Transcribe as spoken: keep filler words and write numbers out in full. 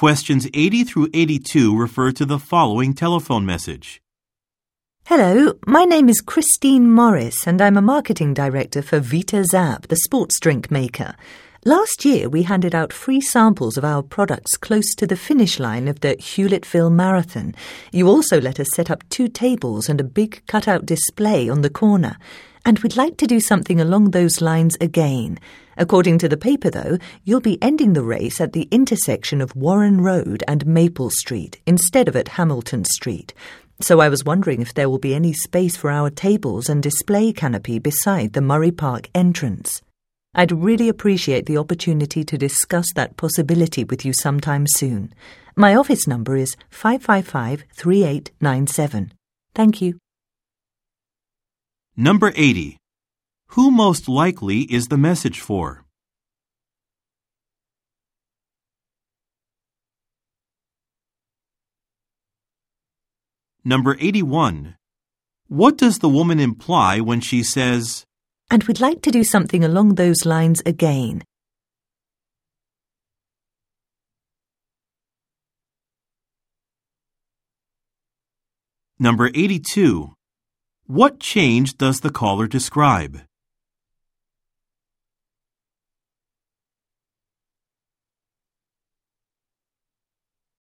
Questions eighty through eighty-two refer to the following telephone message. Hello, my name is Christine Morris and I'm a marketing director for Vita Zap, the sports drink maker. Last year we handed out free samples of our products close to the finish line of the Hewlettville Marathon. You also let us set up two tables and a big cutout display on the corner. And we'd like to do something along those lines again. According to the paper, though, you'll be ending the race at the intersection of Warren Road and Maple Street instead of at Hamilton Street. So I was wondering if there will be any space for our tables and display canopy beside the Murray Park entrance. I'd really appreciate the opportunity to discuss that possibility with you sometime soon. My office number is five five five, three eight nine seven. Thank you. Number eighty. Who most likely is the message for? Number eighty-one. What does the woman imply when she says, "And we'd like to do something along those lines again"? Number eighty-two. What change does the caller describe?